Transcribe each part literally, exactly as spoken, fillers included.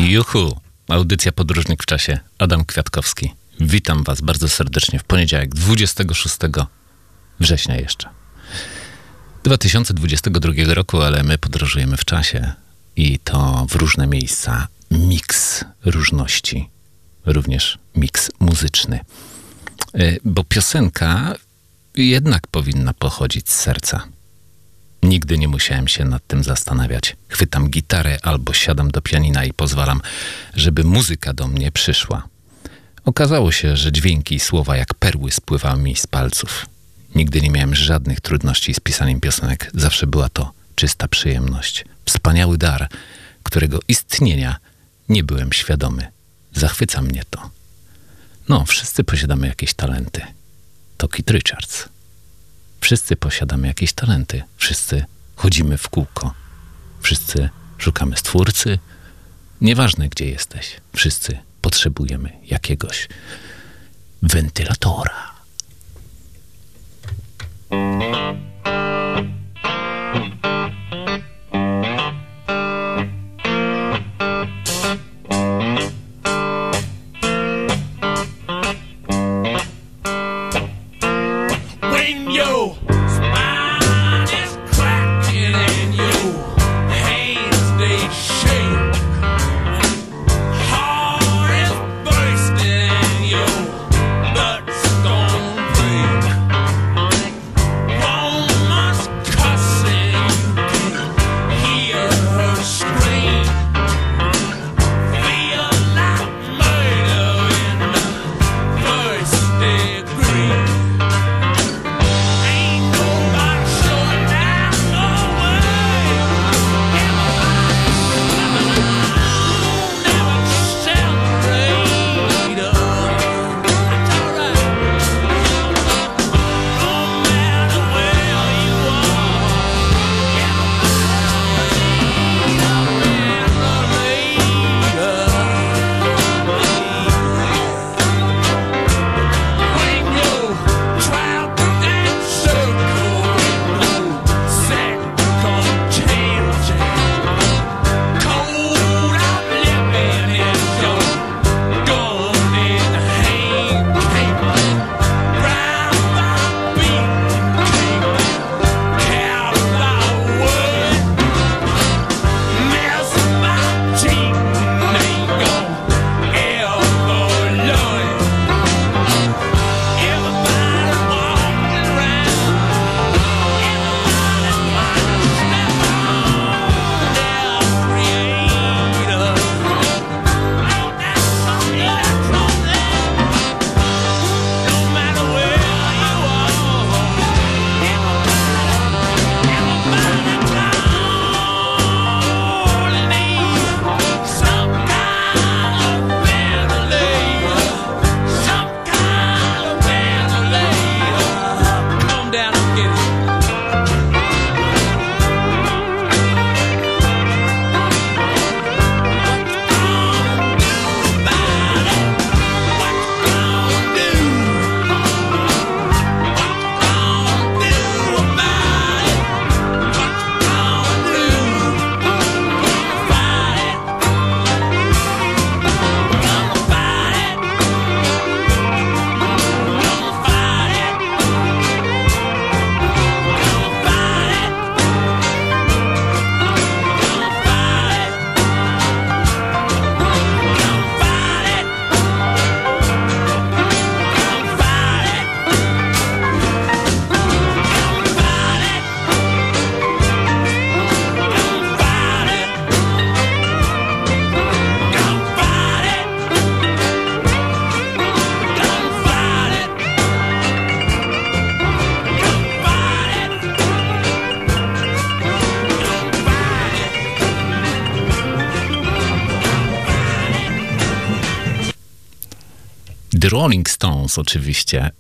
Juhu, audycja Podróżnik w czasie, Adam Kwiatkowski. Witam was bardzo serdecznie w poniedziałek, dwudziestego szóstego września jeszcze. dwa tysiące dwudziestego drugiego roku, ale my podróżujemy w czasie i to w różne miejsca. Miks różności, również miks muzyczny. Bo piosenka jednak powinna pochodzić z serca. Nigdy nie musiałem się nad tym zastanawiać. Chwytam gitarę albo siadam do pianina i pozwalam, żeby muzyka do mnie przyszła. Okazało się, że dźwięki i słowa jak perły spływały mi z palców. Nigdy nie miałem żadnych trudności z pisaniem piosenek. Zawsze była to czysta przyjemność. Wspaniały dar, którego istnienia nie byłem świadomy. Zachwyca mnie to. No, wszyscy posiadamy jakieś talenty. To Keith Richards. Wszyscy posiadamy jakieś talenty. Wszyscy chodzimy w kółko. Wszyscy szukamy stwórcy. Nieważne, gdzie jesteś. Wszyscy potrzebujemy jakiegoś wentylatora. The Rolling Stones oczywiście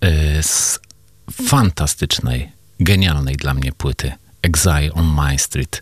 z fantastycznej, genialnej dla mnie płyty Exile on My Street.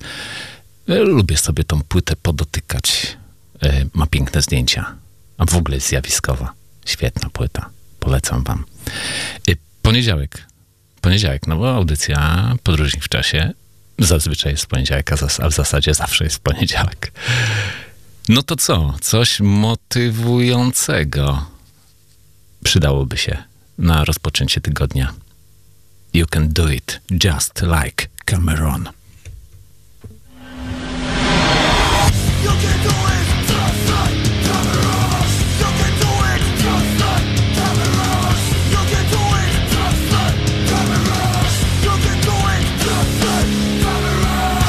Lubię sobie tą płytę podotykać. Ma piękne zdjęcia, a w ogóle jest zjawiskowa. Świetna płyta. Polecam wam. Poniedziałek. Poniedziałek, no bo audycja Podróżnik w czasie zazwyczaj jest w poniedziałek, a w zasadzie zawsze jest w poniedziałek. No to co? Coś motywującego przydałoby się na rozpoczęcie tygodnia. You can do it just like Cameron. You can do it just like Cameron. You can do it just like Cameron. You can do it just like Cameron. You can do it just like Cameron.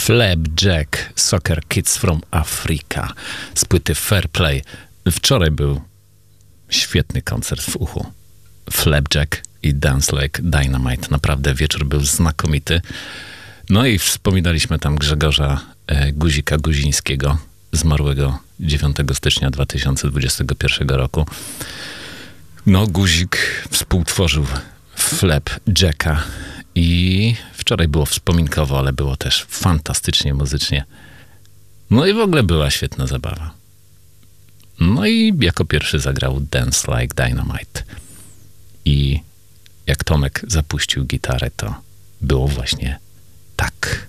Flapjack, Soccer Kids from Africa z płyty Fair Play. Wczoraj był świetny koncert w Uchu. Flapjack i Dance Like Dynamite. Naprawdę wieczór był znakomity. No i wspominaliśmy tam Grzegorza e, Guzika Guzińskiego, zmarłego dziewiątego stycznia dwa tysiące dwudziestego pierwszego roku. No, Guzik współtworzył Flapjacka i wczoraj było wspominkowo, ale było też fantastycznie muzycznie. No i w ogóle była świetna zabawa. No i jako pierwszy zagrał Dance Like Dynamite. I jak Tomek zapuścił gitarę, to było właśnie tak.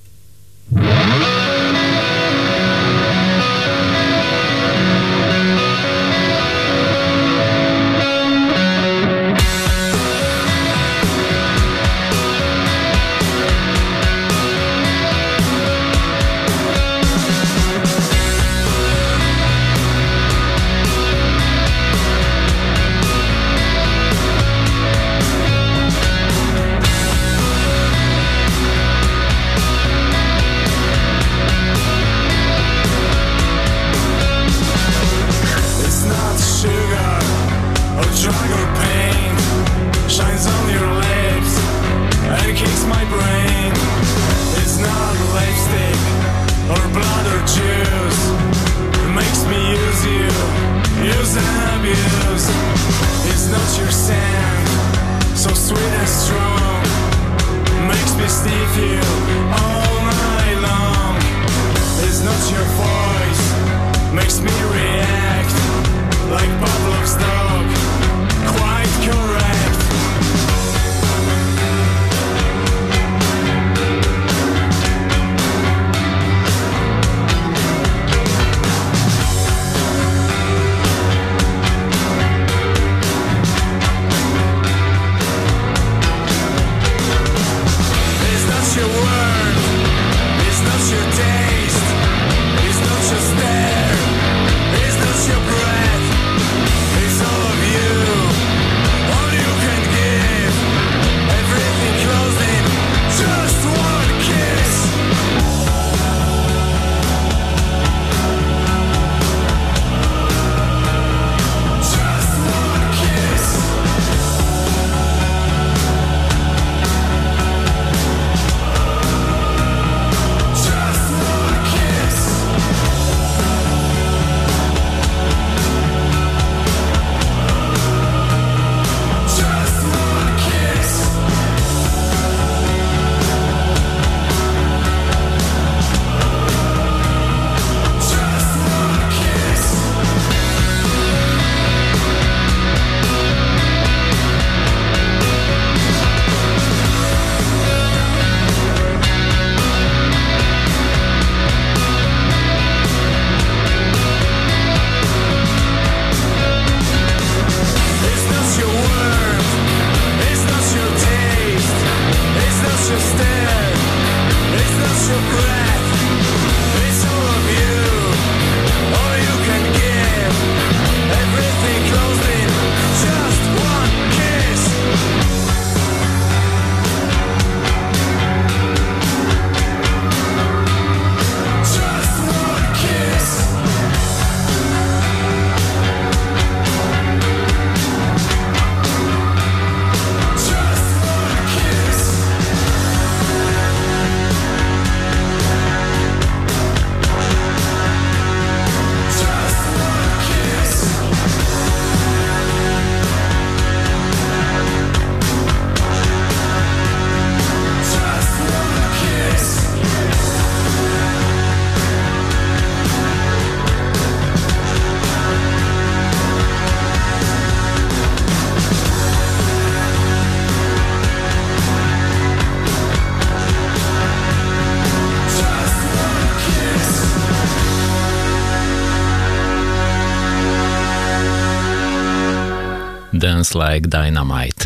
Dance Like Dynamite.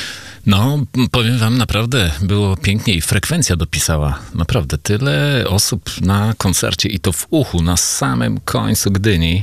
No, powiem wam, naprawdę było pięknie i frekwencja dopisała. Naprawdę, tyle osób na koncercie i to w Uchu, na samym końcu Gdyni,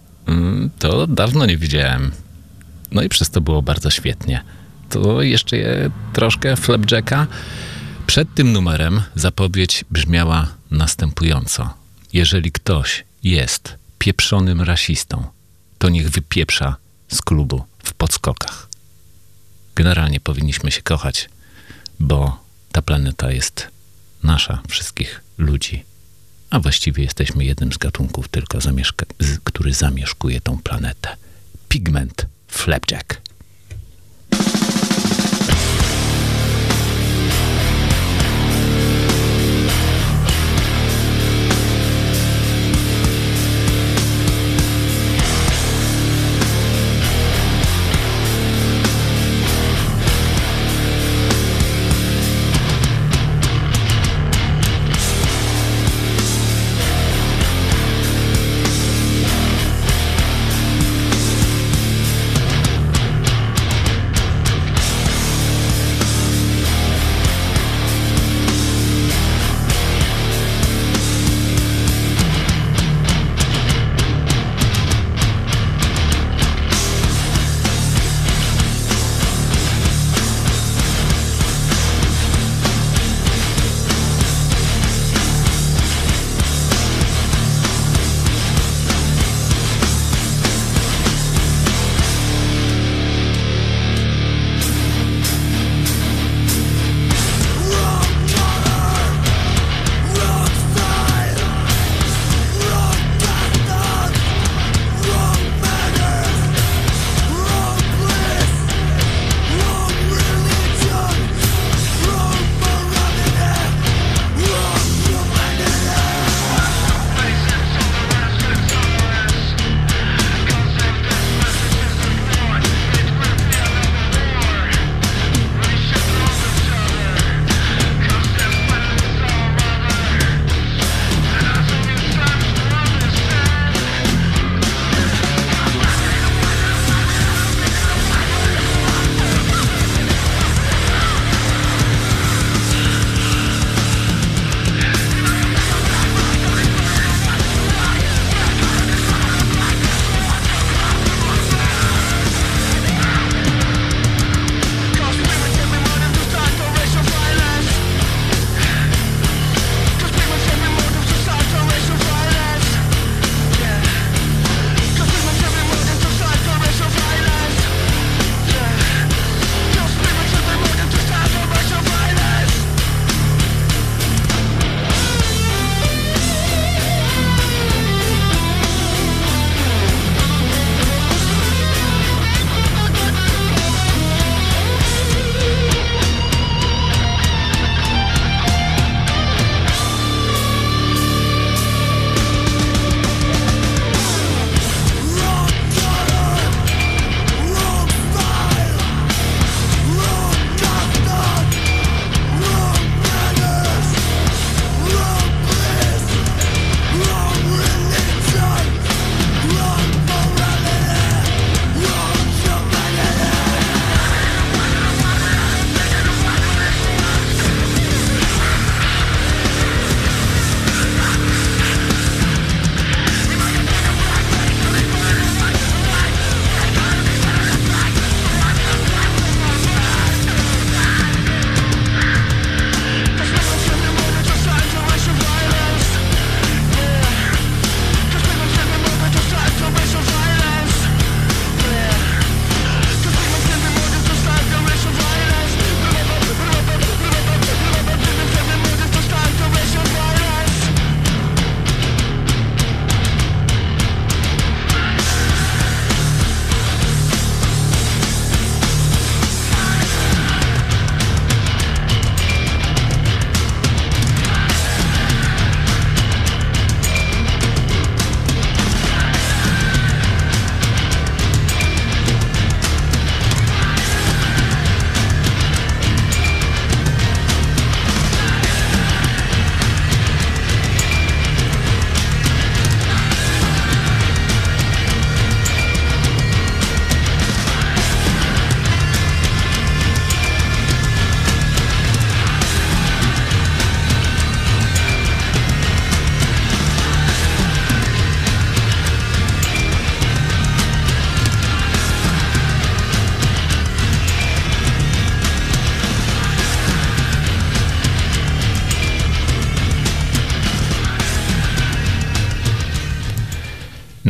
to dawno nie widziałem. No i przez to było bardzo świetnie. To jeszcze troszkę Flapjacka. Przed tym numerem zapowiedź brzmiała następująco. Jeżeli ktoś jest pieprzonym rasistą, to niech wypieprza z klubu w podskokach. Generalnie powinniśmy się kochać, bo ta planeta jest nasza, wszystkich ludzi. A właściwie jesteśmy jednym z gatunków tylko, zamieszka- z, który zamieszkuje tą planetę. Pigment Flapjack.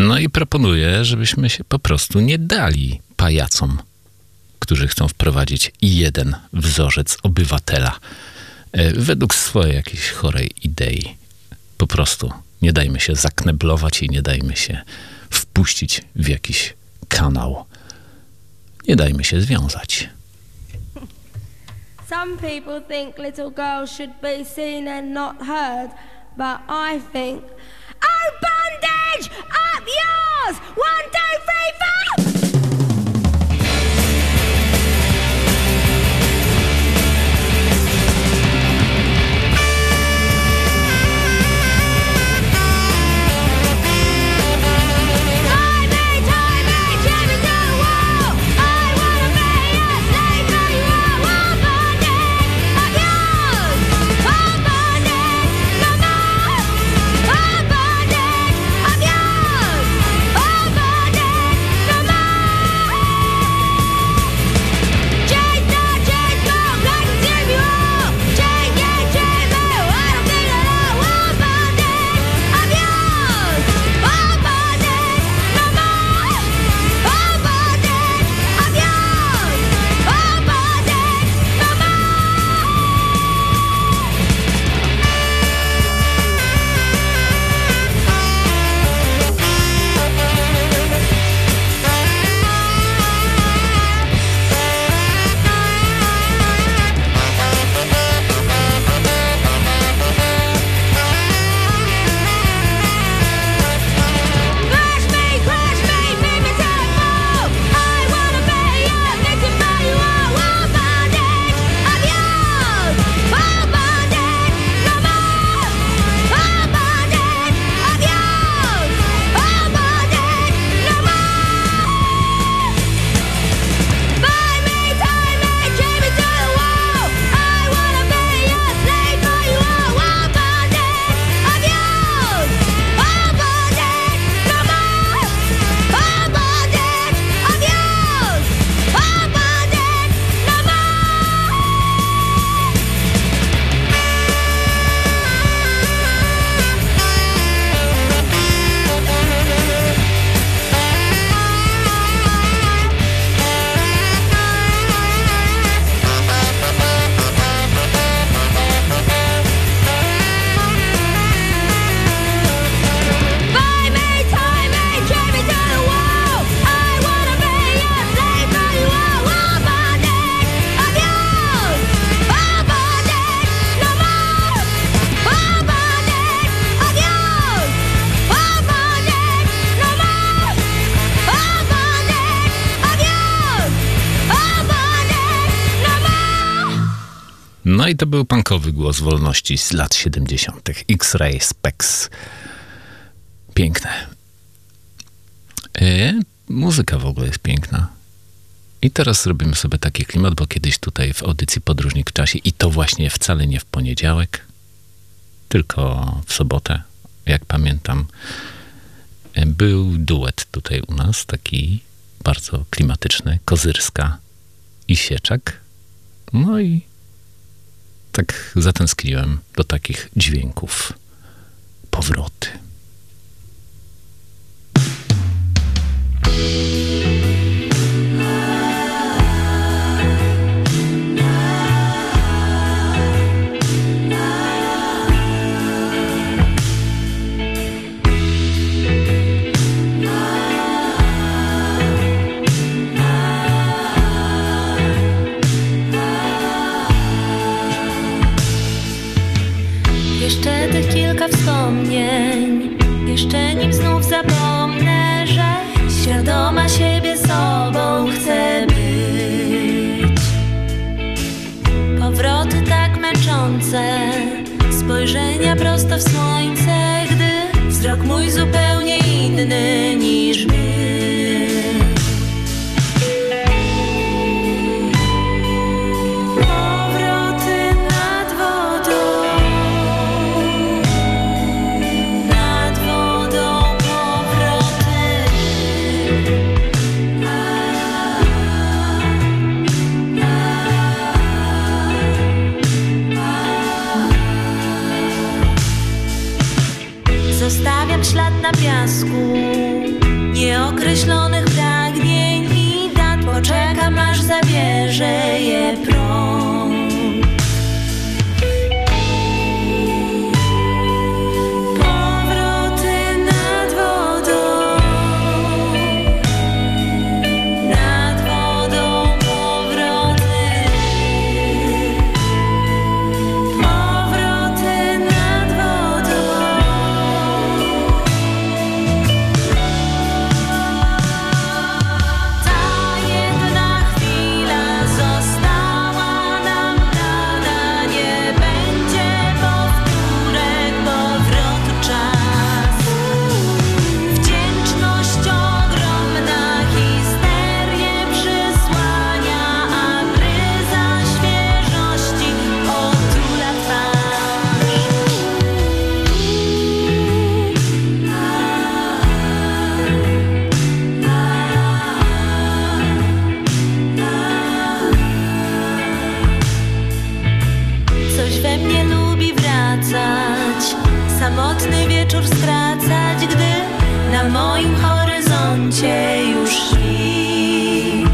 No i proponuję, żebyśmy się po prostu nie dali pajacom, którzy chcą wprowadzić jeden wzorzec obywatela według swojej jakiejś chorej idei. Po prostu nie dajmy się zakneblować i nie dajmy się wpuścić w jakiś kanał. Nie dajmy się związać. Some people think little girls should be seen and not heard, but I think, oh, bondage, up yours! One, two, three, four! No i to był punkowy głos wolności z lat siedemdziesiątych. X-Ray Specs. Piękne. E, muzyka w ogóle jest piękna. I teraz robimy sobie taki klimat, bo kiedyś tutaj w audycji Podróżnik w czasie, i to właśnie wcale nie w poniedziałek, tylko w sobotę, jak pamiętam, był duet tutaj u nas, taki bardzo klimatyczny, Kozyrska i Sieczak. No i tak zatęskniłem do takich dźwięków. Powroty. Jeszcze tych kilka wspomnień, jeszcze nim znów zapomnę, że świadoma siebie sobą chcę być. Powroty tak męczące, spojrzenia prosto w słońce, gdy wzrok mój zupełnie inny niż my. Zostawiam ślad na piasku, nieokreślonych pragnień i dat. Poczekam, aż zabierze je prąd. Powroty nad wodą, nad wodą powroty, powroty nad wodą. Ta jedna chwila została nam dana, nie będzie powtórek, powrotu czas. Wdzięczność ogromna histerię przysłania, a bryza świeżości otula twarz. Coś we mnie lubi wracać, samotny wieczór skracać, gdy na moim horyzoncie już świt.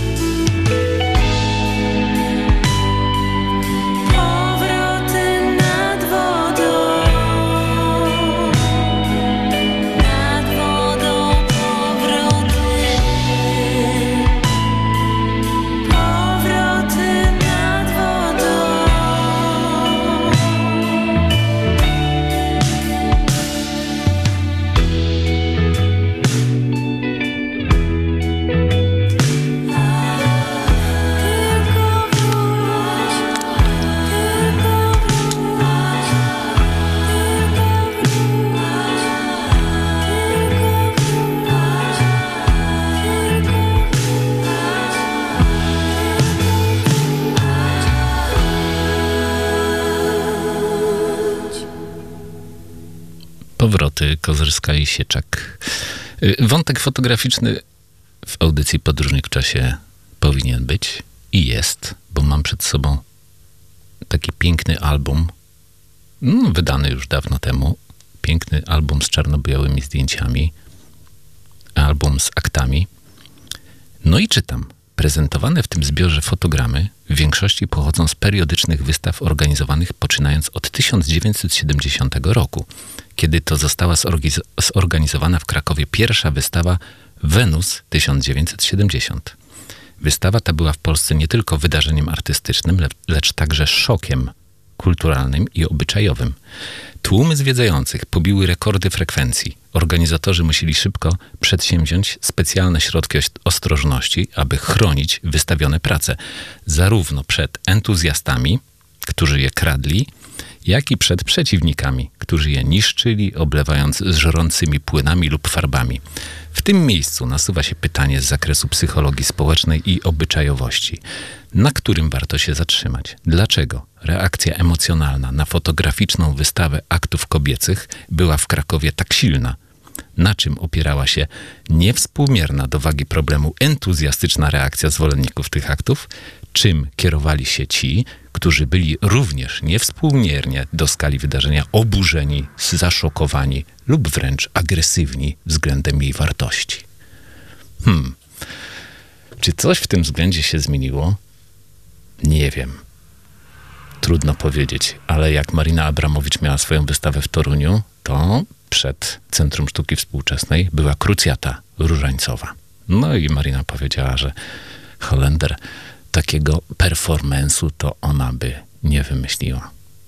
Powroty nad wodą, nad wodą powroty, powroty nad wodą. Tylko wróć, tylko wróć, tylko wróć. Powroty, Kozyrska i Sieczak. Y, Wątek fotograficzny w audycji Podróżnik w czasie powinien być i jest, bo mam przed sobą taki piękny album, no, wydany już dawno temu. Piękny album z czarno-białymi zdjęciami, album z aktami. No i czytam. Prezentowane w tym zbiorze fotogramy w większości pochodzą z periodycznych wystaw organizowanych poczynając od tysiąc dziewięćset siedemdziesiątego roku, kiedy to została zorgiz- zorganizowana w Krakowie pierwsza wystawa Wenus tysiąc dziewięćset siedemdziesiąt. Wystawa ta była w Polsce nie tylko wydarzeniem artystycznym, le- lecz także szokiem kulturalnym i obyczajowym. Tłumy zwiedzających pobiły rekordy frekwencji. Organizatorzy musieli szybko przedsięwziąć specjalne środki oś- ostrożności, aby chronić wystawione prace, zarówno przed entuzjastami, którzy je kradli, jak i przed przeciwnikami, którzy je niszczyli, oblewając żrącymi płynami lub farbami. W tym miejscu nasuwa się pytanie z zakresu psychologii społecznej i obyczajowości, na którym warto się zatrzymać. Dlaczego reakcja emocjonalna na fotograficzną wystawę aktów kobiecych była w Krakowie tak silna? Na czym opierała się niewspółmierna do wagi problemu entuzjastyczna reakcja zwolenników tych aktów? Czym kierowali się ci, którzy byli również niewspółmiernie do skali wydarzenia oburzeni, zaszokowani lub wręcz agresywni względem jej wartości? Hmm. Czy coś w tym względzie się zmieniło? Nie wiem. Trudno powiedzieć, ale jak Marina Abramowicz miała swoją wystawę w Toruniu, to przed Centrum Sztuki Współczesnej była krucjata różańcowa. No i Marina powiedziała, że Holender takiego performance'u to ona by nie wymyśliła.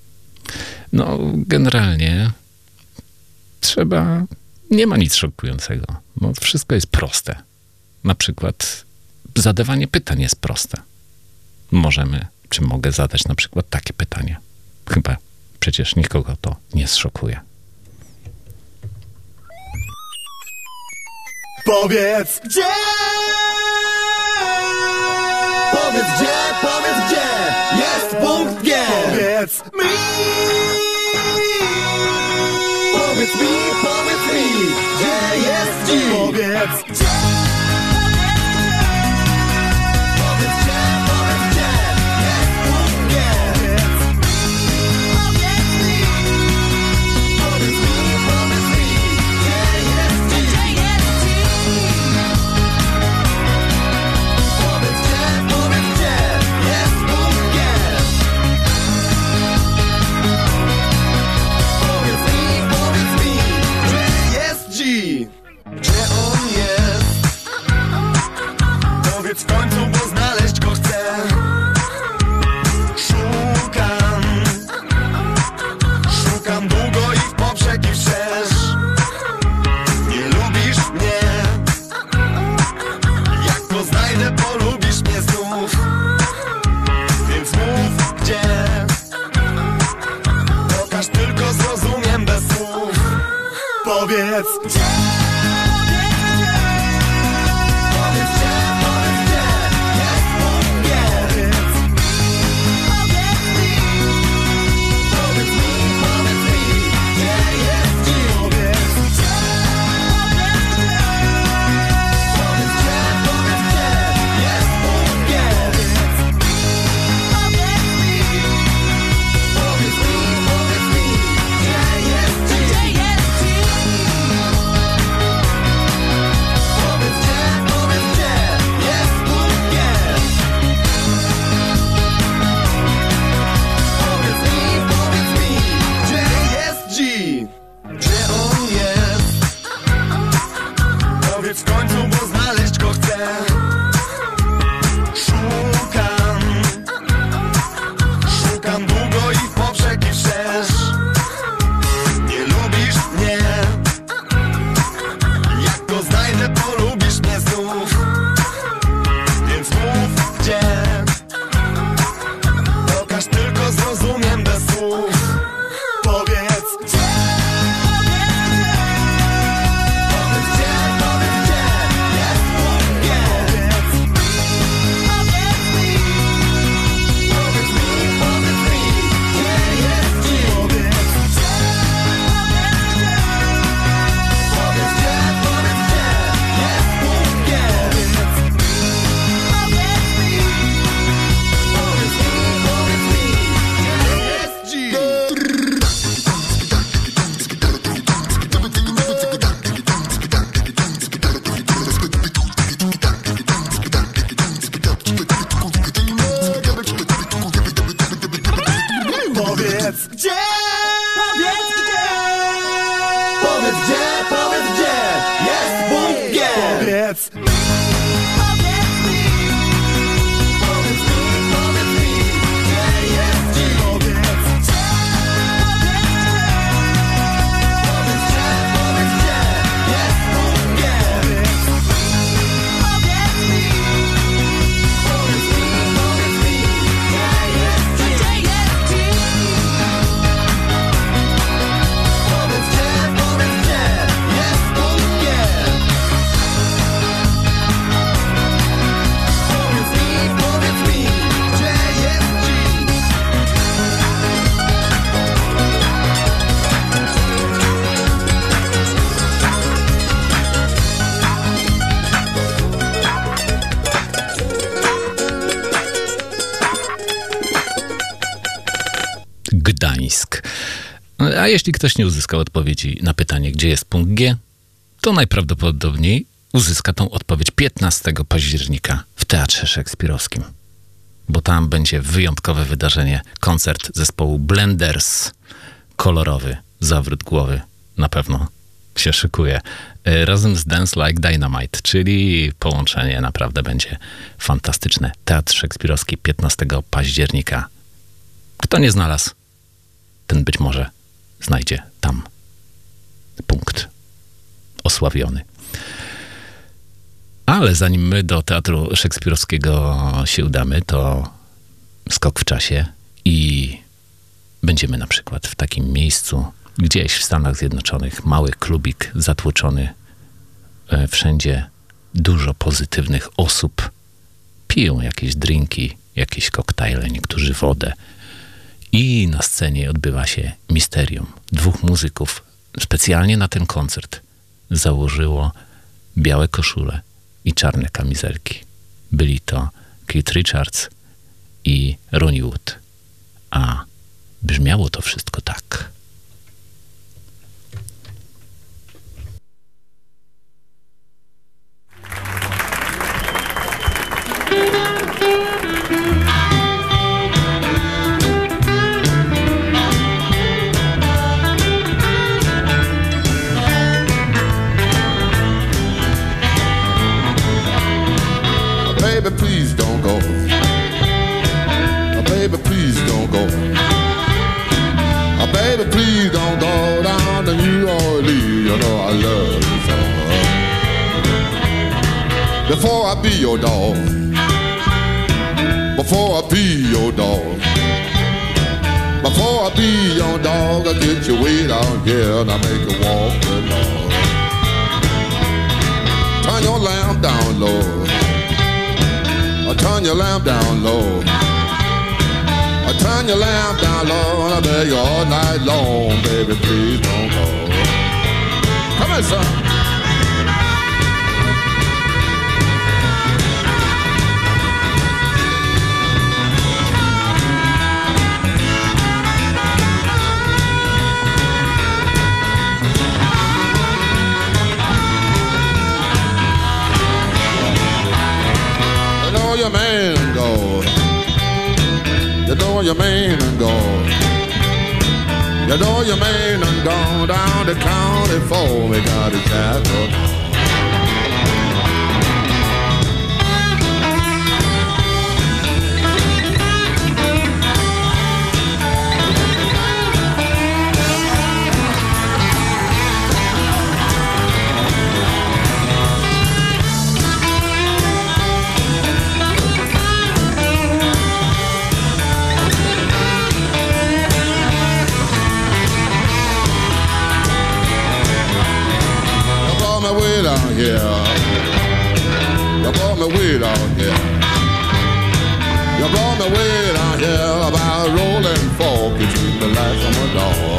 No, generalnie trzeba... Nie ma nic szokującego, bo wszystko jest proste. Na przykład zadawanie pytań jest proste. Możemy, czy mogę zadać na przykład takie pytanie? Chyba przecież nikogo to nie zszokuje. Powiedz gdzie! Powiedz gdzie, powiedz gdzie jest punkt G! Powiedz mi! Powiedz mi, powiedz mi, gdzie jest dziś! Powiedz gdzie! Powiedz gdzie, powiedz gdzie jest punkt G! Powiedz mi! Powiedz mi, powiedz mi, gdzie jest dziś! Powiedz gdzie, powiedz gdzie, powiedz gdzie jest bunkier. Powiedz mi, powiedz mi, gdzie jest dziś. Powiedz gdzie, powiedz gdzie, powiedz gdzie jest bunkier. Powiedz mi, powiedz mi, powiedz mi, gdzie jest dziś. Gdzie jest dziś? Powiedz gdzie, powiedz gdzie jest bunkier. Powiedz mi, powiedz mi, gdzie jest dziś. Gdzie on jest? Powiedz w końcu, bo znaleźć go chcę. Szukam, szukam długo i w poprzek i wszerz. Nie lubisz mnie. Jak go znajdę, polubisz mnie znów. Więc mów gdzie. Pokaż, tylko zrozumiem bez słów. Powiedz gdzie. Powiedz gdzie, powiedz gdzie jest bunkier. Powiedz mi, powiedz mi, powiedz mi, gdzie jest dziś. Powiedz gdzie, powiedz gdzie, powiedz gdzie jest bunkier. Powiedz mi, powiedz mi, powiedz mi, gdzie jest dziś. Powiedz gdzie, powiedz gdzie, powiedz gdzie, powiedz gdzie jest bunkier. Powiedz, powiedz mi, powiedz mi, powiedz mi, gdzie jest dziś. Powiedz gdzie, powiedz gdzie, powiedz gdzie jest bunkier. Powiedz mi, powiedz mi, powiedz mi, gdzie jest dziś. Gdzie jest dziś? Powiedz gdzie, powiedz gdzie jest bunkier. Powiedz mi, powiedz mi, gdzie jest dziś. Gdańsk. A jeśli ktoś nie uzyskał odpowiedzi na pytanie, gdzie jest punkt G, to najprawdopodobniej uzyska tą odpowiedź piętnastego października w Teatrze Szekspirowskim. Bo tam będzie wyjątkowe wydarzenie, koncert zespołu Blenders. Kolorowy zawrót głowy na pewno się szykuje. E, Razem z Dance Like Dynamite, czyli połączenie naprawdę będzie fantastyczne. Teatr Szekspirowski piętnastego października. Kto nie znalazł, ten być może znajdzie tam punkt osławiony. Ale zanim my do Teatru Szekspirowskiego się udamy, to skok w czasie i będziemy na przykład w takim miejscu, gdzieś w Stanach Zjednoczonych, mały klubik zatłoczony, e, wszędzie dużo pozytywnych osób, piją jakieś drinki, jakieś koktajle, niektórzy wodę. I na scenie odbywa się misterium. Dwóch muzyków specjalnie na ten koncert założyło białe koszule i czarne kamizelki. Byli to Keith Richards i Ronnie Wood. A brzmiało to wszystko tak. Baby, please don't go. Baby, please don't go. Baby, please don't go down to New Orleans. You know I love you so. Before I be your dog, before I be your dog, before I be your dog, I get you way down here and I make you walk the dog. down low. I turn your lamp down low. I turn your lamp down low, and I beg you all night long, baby, please don't go. Come on, son. Your man go. You know your man and go. You know your man and gone down the county for me, got a jacket. Way down here, you brought me way down here. You brought me way down here about rolling fork between the lights on my door.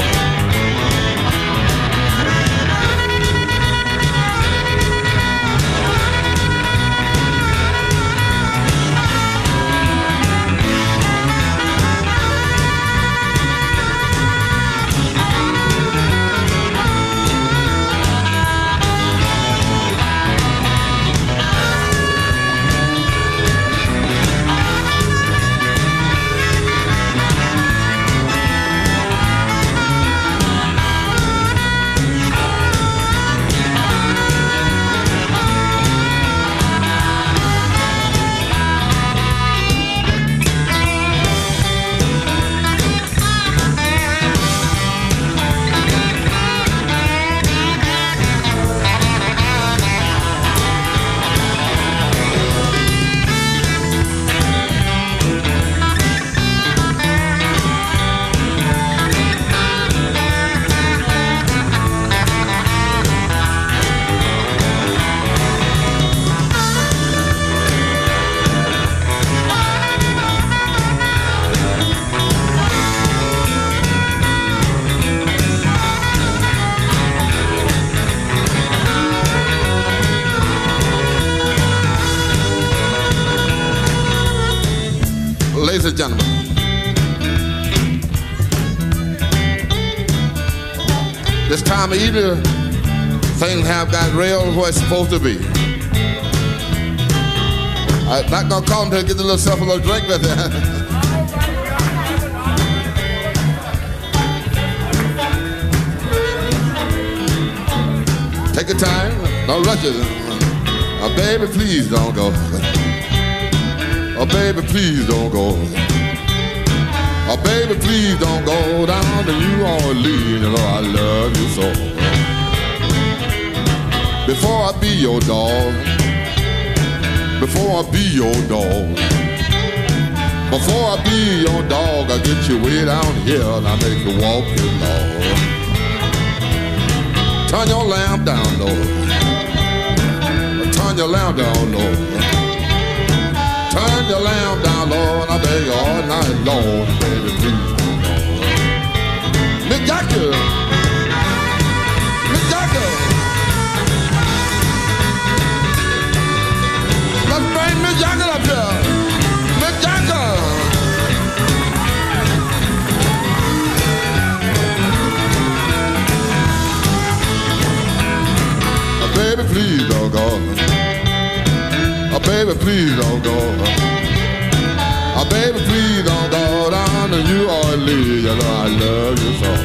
Ladies and gentlemen, this time of year, things have got real where it's supposed to be. I'm not gonna call him to get yourself a little drink with it. Take your time, don't rush it. Oh, baby, please don't go. Oh, baby, please don't go. Oh, baby, please don't go down to New Orleans. You know I love you so. Before I be your dog, before I be your dog, before I be your dog, I get you way down here and I make you walk your dog. Turn your lamp down low. Turn your lamp down low. Turn your lamp down low and I beg you all night long, baby, please don't go. Mick Jagger, Mick Jagger, let's bring Mick Jagger up here. Mick Jagger. Oh, baby, please don't go. Oh, baby, please don't go. Oh, baby, please don't go down to New Orleans. You know I love you so.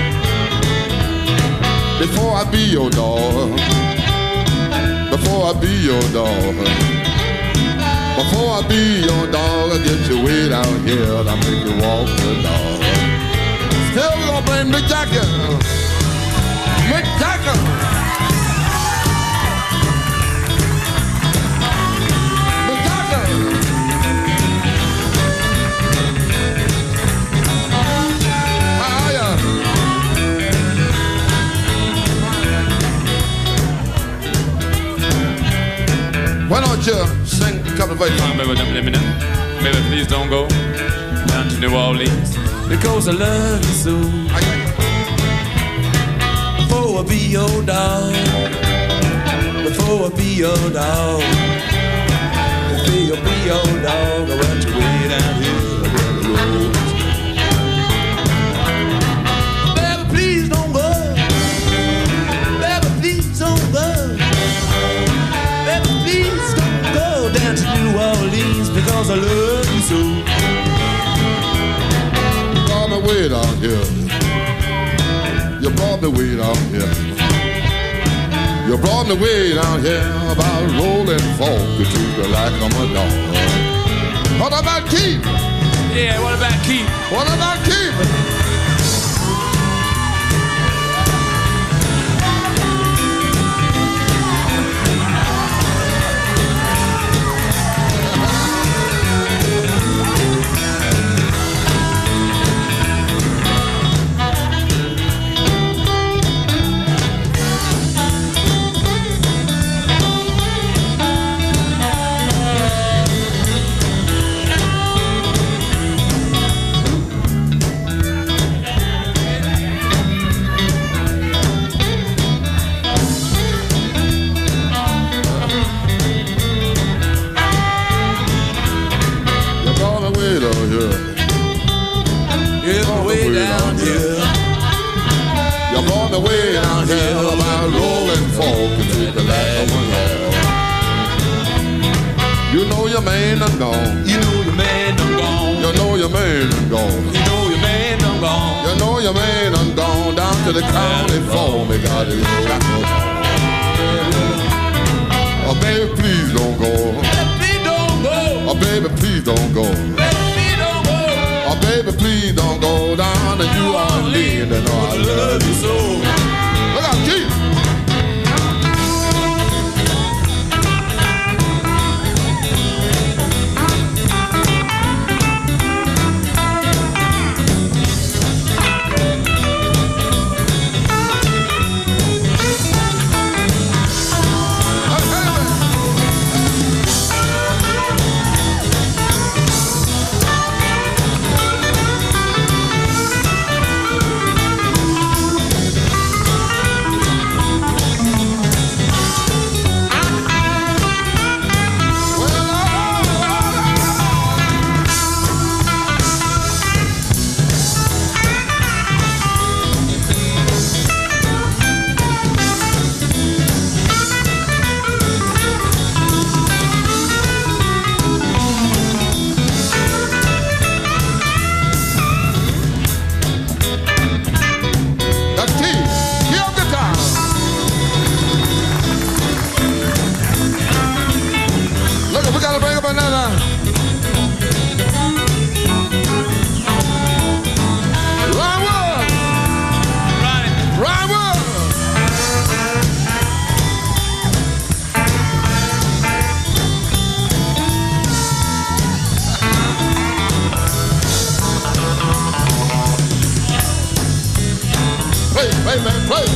Before I be your dog, before I be your dog, before I be your dog, I get you way down here and I make you walk the dog. Still we gonna bring Mick Jagger, Mick Jagger. When you sing a couple of ways? Come on, baby, don't let me know. Baby, please don't go down to New Orleans because I love you so. Before I be your dog, before I be your dog, before I be your dog, I want you way down here where the road. Baby, please don't go. Baby, please don't go. Baby, please don't go down to New Orleans because I love you so. You brought me way down here. You brought me way down here. You brought me way down here about rolling folk to the like of a dog. What about Keith? Yeah, what about Keith? What about Keith? To the county for me, got his shackles on. Oh, baby, please don't go. Please don't go. Oh, baby, please don't go. Please don't go. Oh, baby, please don't go down to New Orleans. And oh, I love you so. Look out, Keith. Play, man, play.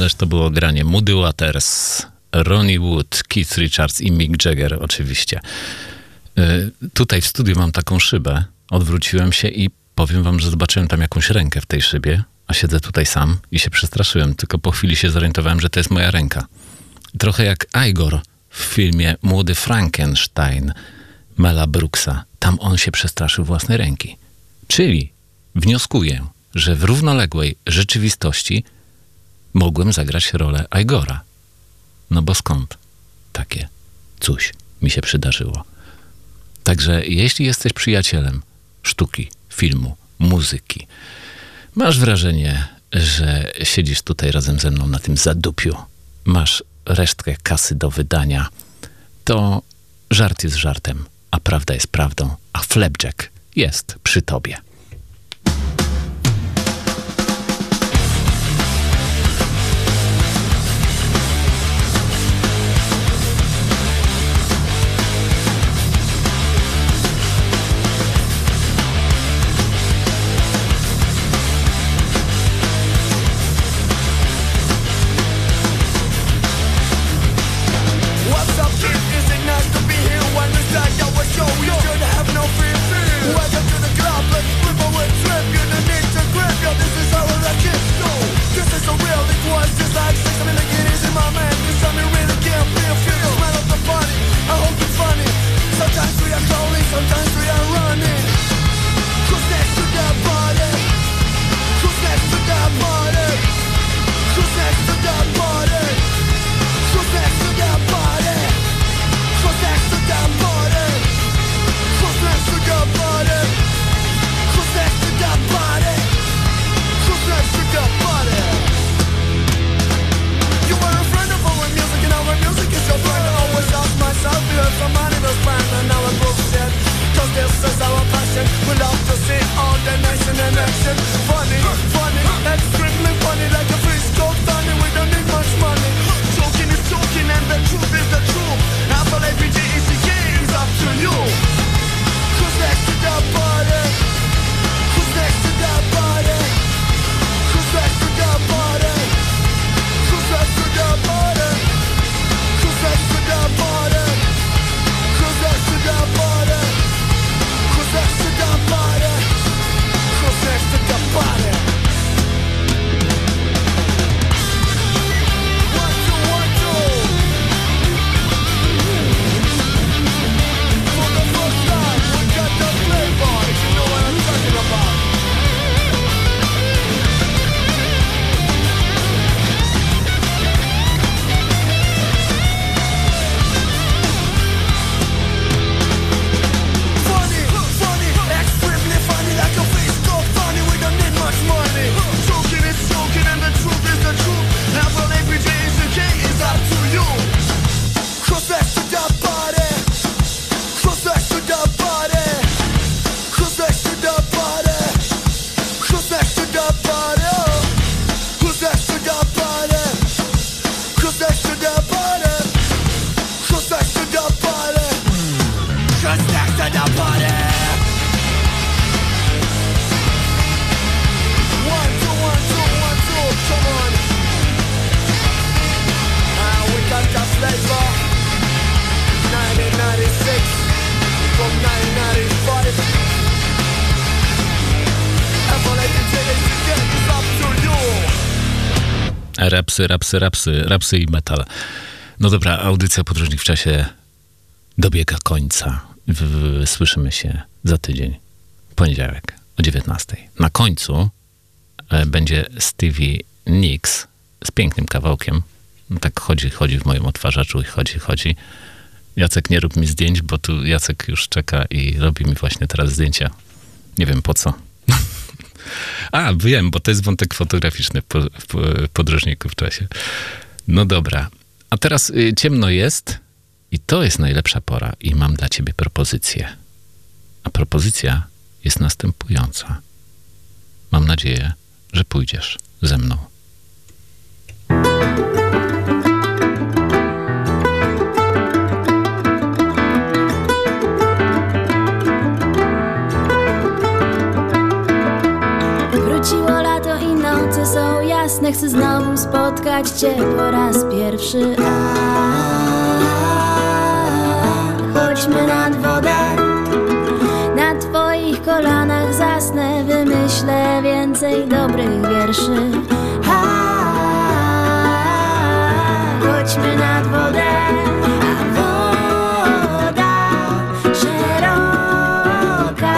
Ależ to było granie Muddy Waters, Ronnie Wood, Keith Richards i Mick Jagger oczywiście. Yy, tutaj w studiu mam taką szybę. Odwróciłem się i powiem wam, że zobaczyłem tam jakąś rękę w tej szybie, a siedzę tutaj sam i się przestraszyłem. Tylko po chwili się zorientowałem, że to jest moja ręka. Trochę jak Igor w filmie Młody Frankenstein Mela Brooksa. Tam on się przestraszył własnej ręki. Czyli wnioskuję, że w równoległej rzeczywistości mogłem zagrać rolę Igora. No bo skąd takie coś mi się przydarzyło? Także jeśli jesteś przyjacielem sztuki, filmu, muzyki, masz wrażenie, że siedzisz tutaj razem ze mną na tym zadupiu, masz resztkę kasy do wydania, to żart jest żartem, a prawda jest prawdą, a Flapjack jest przy tobie. What's up, kid? Is it nice to be here? One side, I was show you should have no fear. Welcome to the club, let's flip away trip. You don't need to grip, yo, this is how the kids go. This is so real, it was just like sex. I mean, like it is in my man. This time you really can't feel, feel the smell of the party. I hope it's funny. Sometimes we are calling, sometimes we are running. Who's next to the party? Who's next to the party? Who's next to the party? Who's next to the party? Who's next to the party? Who's next to the party? Who's next to the party? Who's next to the party? You were a friend of our music and our music is your friend. I always ask myself, you have some money to spend and now it's bullshit. Cause this is our passion. We love to see all the nation in action. Funny, funny, extremely funny. Like a fish called Tony, we don't need much money. Joking is joking and the truth is the truth. Apple A P G E C K is up to you. Who's next to the party? Who's next to the party? Who's next to the party? Who's next to the party? Who's next to the party? Who's next to the party? Who's next to the party? Who's next to the party? One, two, one, two. For the first time, we got the flavor. If you know what I'm talking about. Funny, funny, extremely funny, like a fish called Tony. We don't need much money. Joking is joking and the truth is the truth. Apple A P G E C K is up to you. Who's next to the party? Who's next to the party? Who's next to the party? Who's next to the party? Who's next to the party? Who's next to the party? Who's next to the party? Who's next to the party? One, two, one, two, one, two, come on. Ah, we got that flavor. nineteen ninety-six from nineteen ninety-five. Apple A P G E C K is up to you. Rapsy, rapsy, rapsy, rapsy i metal. No dobra, audycja Podróżnik w czasie dobiega końca. W, w, słyszymy się za tydzień, poniedziałek o dziewiętnastej. Na końcu e, będzie Stevie Nicks z pięknym kawałkiem. No tak chodzi, chodzi w moim odtwarzaczu i chodzi, chodzi. Jacek, nie rób mi zdjęć, bo tu Jacek już czeka i robi mi właśnie teraz zdjęcia. Nie wiem po co. A, wiem, bo to jest wątek fotograficzny w, po, w Podróżniku w czasie. No dobra. A teraz y, ciemno jest i to jest najlepsza pora i mam dla ciebie propozycję. A propozycja jest następująca. Mam nadzieję, że pójdziesz ze mną. Wróciło lato i noce są jasne. Chcę znowu spotkać kochać cię po raz pierwszy. A chodźmy nad wodę, na twoich kolanach zasnę, wymyślę więcej dobrych wierszy. A chodźmy nad wodę, a woda szeroka,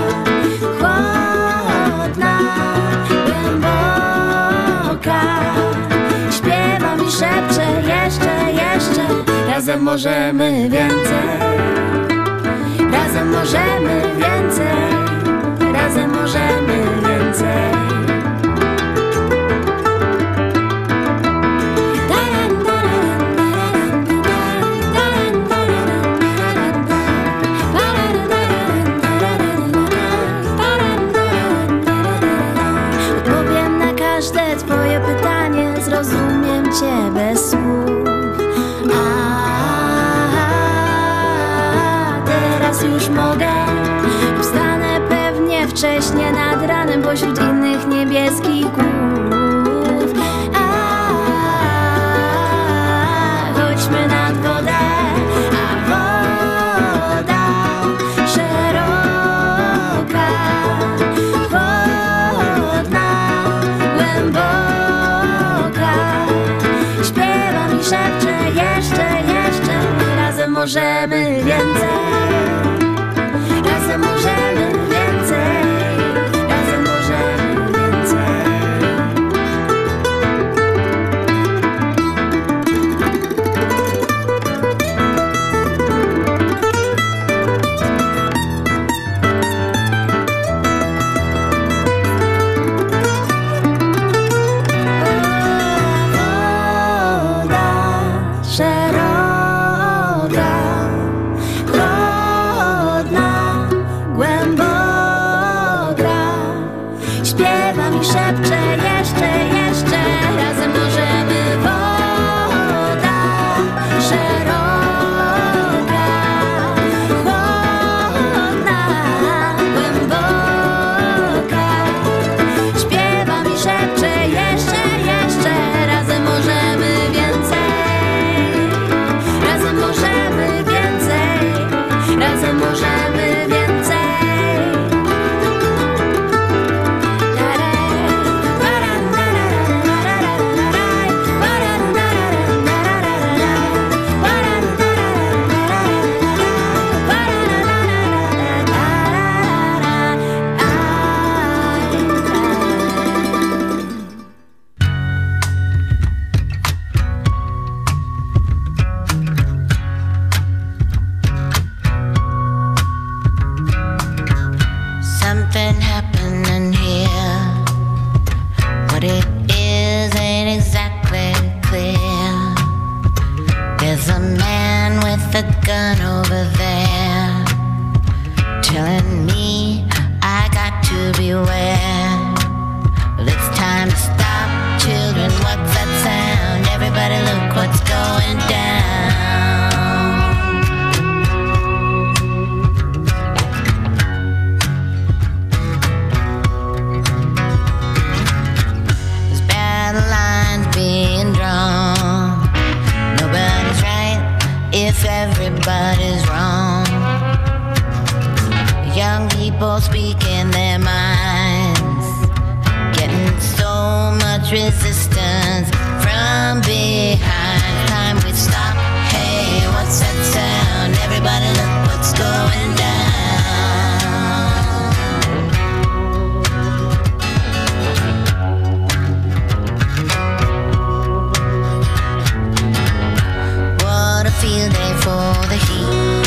chłodna, głęboka. Śpiewa mi, szepcze, jeszcze, jeszcze. Razem możemy więcej, razem możemy więcej, razem możemy więcej. Odpowiem na każde twoje pytanie, zrozumiem cię bez słów. Teraz już mogę, wstanę pewnie wcześnie nad ranem pośród innych niebieskich głów. A, chodźmy nad wodę, a woda szeroka, chłodna, głęboka. Śpiewa mi, szepcze, jeszcze, jeszcze. Razem możemy więcej, razem możemy więcej, razem możemy więcej. Woda szeroka, chłodna, głęboka. Śpiewa mi, szepcze, jeszcze, jeszcze. Razem możemy. Woda szeroka, chłodna, głęboka. Śpiewa mi, szepcze, jeszcze, jeszcze. Razem możemy więcej, razem możemy więcej, razem możemy więcej. Something happening here. What it is ain't exactly clear. There's a man with a gun over there, telling me I got to beware. Well, it's time to stop, children. What's that sound? Everybody look what's going down. There's battle lines being drawn. Nobody's right if everybody's wrong. Young people speaking their minds, getting so much resistance from behind. Time we stop. Hey, what's that sound? Everybody look what's going down. What a field day for the heat.